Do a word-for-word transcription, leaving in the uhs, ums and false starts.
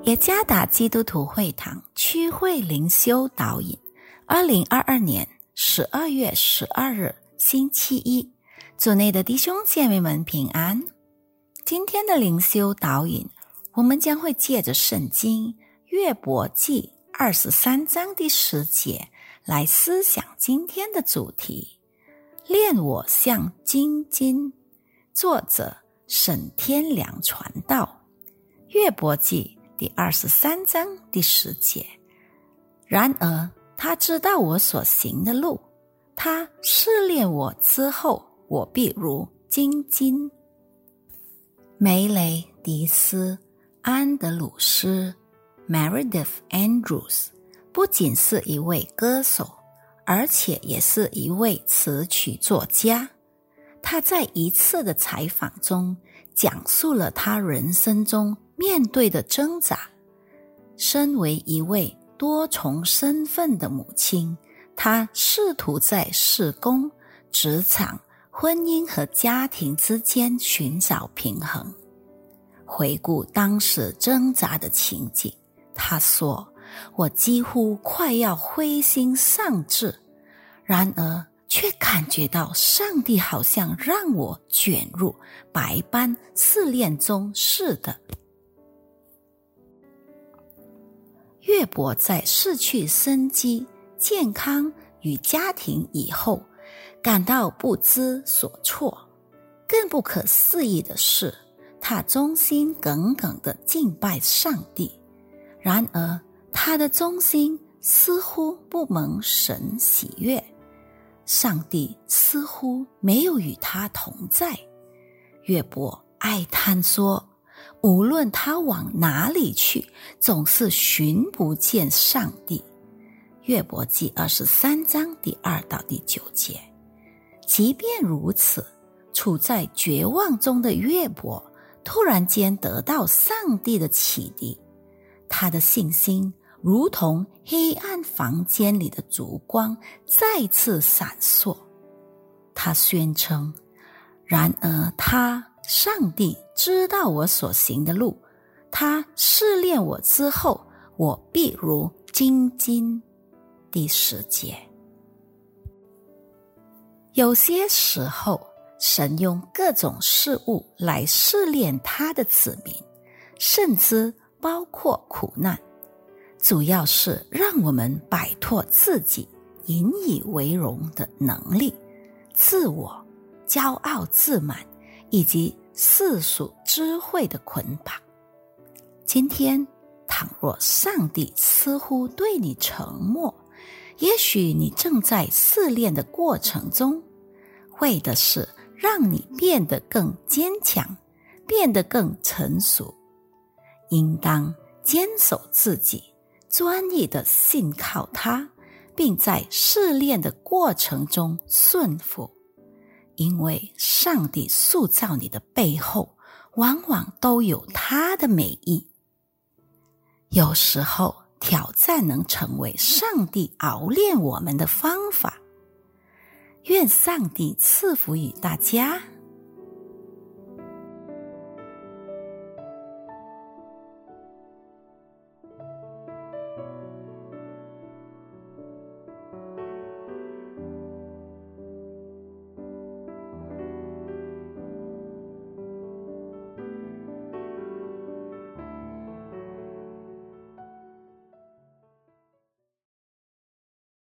耶加达基督徒会堂区会灵修导引，二零二二年十二月十二日星期一，主内的弟兄姐妹们平安。今天的灵修导引，我们将会借着圣经约伯记二十三章第十节来思想今天的主题，炼我像精金。作者沈天良传道。约伯记第二十三章第十节，然而他知道我所行的路，他试炼我之后，我必如精金。梅雷迪斯·安德鲁斯 Meredith Andrews 不仅是一位歌手，而且也是一位词曲作家。他在一次的采访中讲述了他人生中面对的挣扎。身为一位多重身份的母亲，她试图在事工、职场、婚姻和家庭之间寻找平衡。回顾当时挣扎的情景，她说：我几乎快要灰心丧志，然而却感觉到上帝好像让我卷入百般试炼中似的。约伯在失去生机、健康与家庭以后，感到不知所措。更不可思议的是，他忠心耿耿地敬拜上帝，然而他的忠心似乎不蒙神喜悦，上帝似乎没有与他同在。约伯哀叹说，无论他往哪里去，总是寻不见上帝。约伯记二十三章第二到第九节。即便如此，处在绝望中的约伯突然间得到上帝的启迪，他的信心如同黑暗房间里的烛光再次闪烁。他宣称，然而他上帝知道我所行的路，他试炼我之后，我必如精金。第十节。有些时候，神用各种事物来试炼他的子民，甚至包括苦难，主要是让我们摆脱自己引以为荣的能力、自我、骄傲自满以及世俗智慧的捆绑。今天，倘若上帝似乎对你沉默，也许你正在试炼的过程中，为的是让你变得更坚强，变得更成熟。应当坚守自己，专一地信靠他，并在试炼的过程中顺服。因为上帝塑造你的背后，往往都有他的美意。有时候，挑战能成为上帝熬炼我们的方法。愿上帝赐福于大家。